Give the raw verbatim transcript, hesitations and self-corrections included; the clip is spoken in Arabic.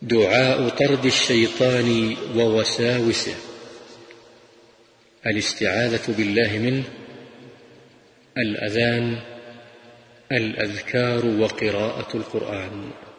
دعاء طرد الشيطان ووساوسه: الاستعاذة بالله منه، الأذان، الأذكار وقراءة القرآن.